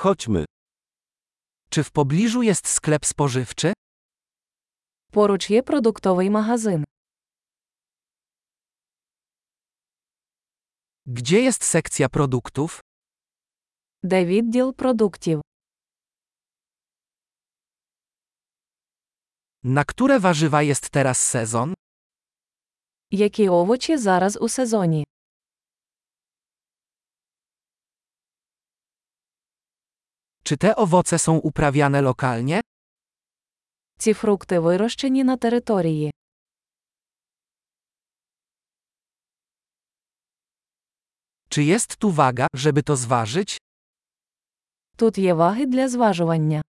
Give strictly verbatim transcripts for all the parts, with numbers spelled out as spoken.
Chodźmy. Czy w pobliżu jest sklep spożywczy? Поруч є продуктовий магазин. Gdzie jest sekcja produktów? Де відділ продуктів? Na które warzywa jest teraz sezon? Які овочі зараз у сезоні? Czy te owoce są uprawiane lokalnie? Ці фрукти вирощені на території. Czy jest tu waga, żeby to zważyć? Тут є ваги для зважування.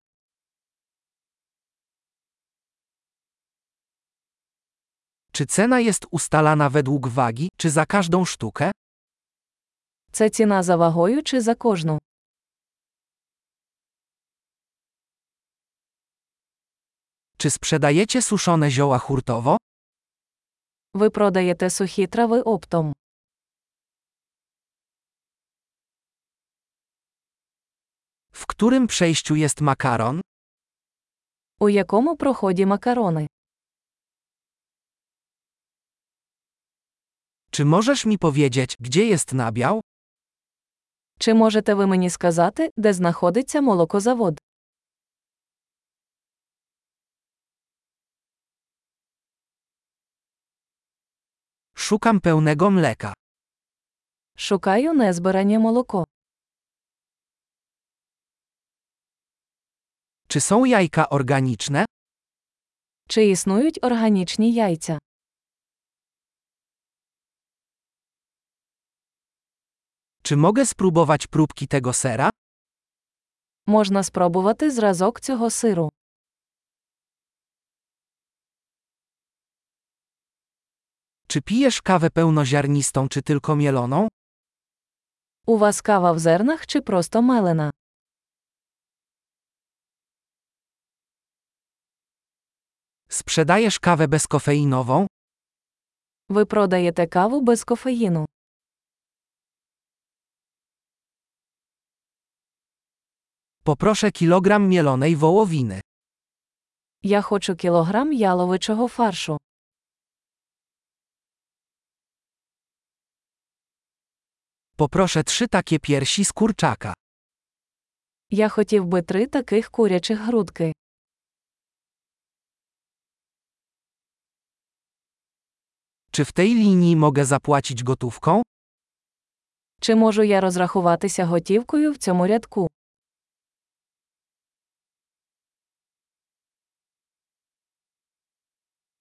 Czy cena jest ustalana według wagi, czy za każdą sztukę? Це ціна за вагою чи за кожну? Czy sprzedajecie suszone zioła hurtowo? Ви продаєте сухі трави оптом. W którym przejściu jest makaron? У якому проході макарони? Czy możesz mi powiedzieć, gdzie jest nabiał? Чи можете ви мені сказати, де знаходиться молокозавод? Szukam pełnego mleka. Шукаю незбиране молоко. Czy są jajka organiczne? Чи існують органічні яйця? Czy mogę spróbować próbki tego sera? Можна спробувати зразок цього сиру. Czy pijesz kawę pełnoziarnistą czy tylko mieloną? У вас кава в зернах чи просто мелена? Sprzedajesz kawę bezkofeinową? Ви продаєте каву без кофеїну. Poproszę kilogram mielonej wołowiny. Я хочу кілограм яловичого фаршу. Poproszę trzy takie piersi z kurczaka. Я хотів би три таких курячих грудки. Czy w tej linii mogę zapłacić gotówką? Чи можу я розрахуватися готівкою в цьому рядку?